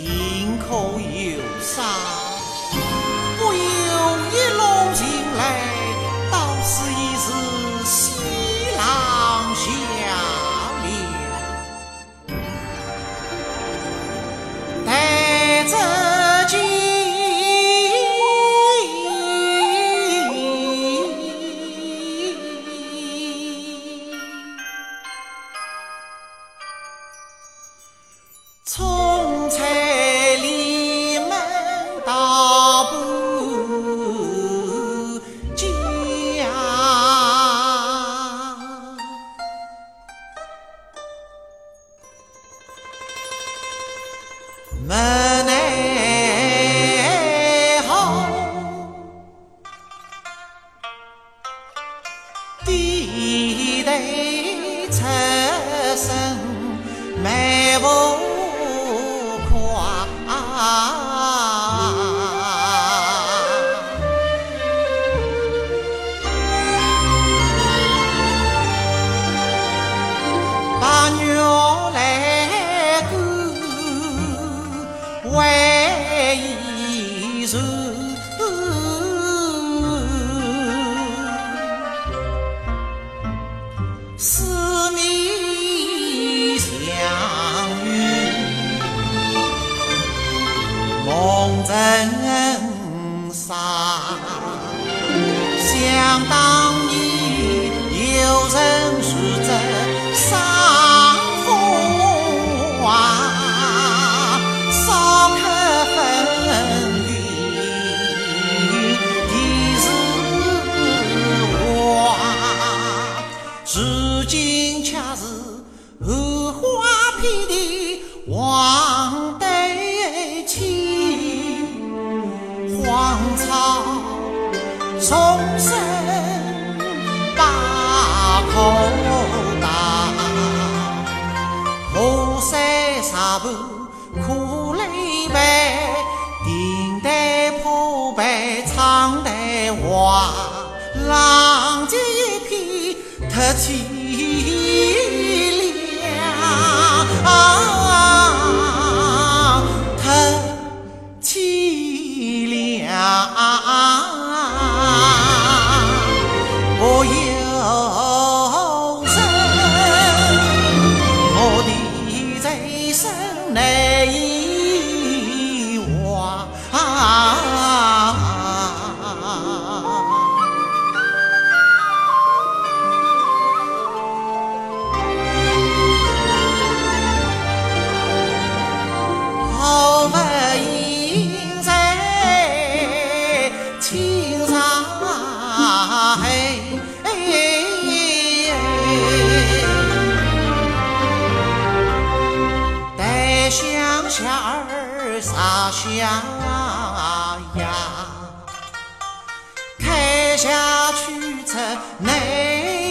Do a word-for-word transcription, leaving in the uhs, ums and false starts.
心口忧伤，不由一笼情泪，到此已是西郎下流。待这今从彩里门到不家，门内后地头出声迈步把鸟来赶，为伊传。四面相遇，梦真沙。想当年有人说这伤风花，少客分离的是我，如今恰是荷花遍地望对起，荒草丛生把口大，河山沙坡苦泪白，顶戴破败苍黛花，浪迹一片特凄凉，特凄凉。我有人，我的这生难以忘。好不应在青纱黑。待乡下儿撒下芽，开下去这内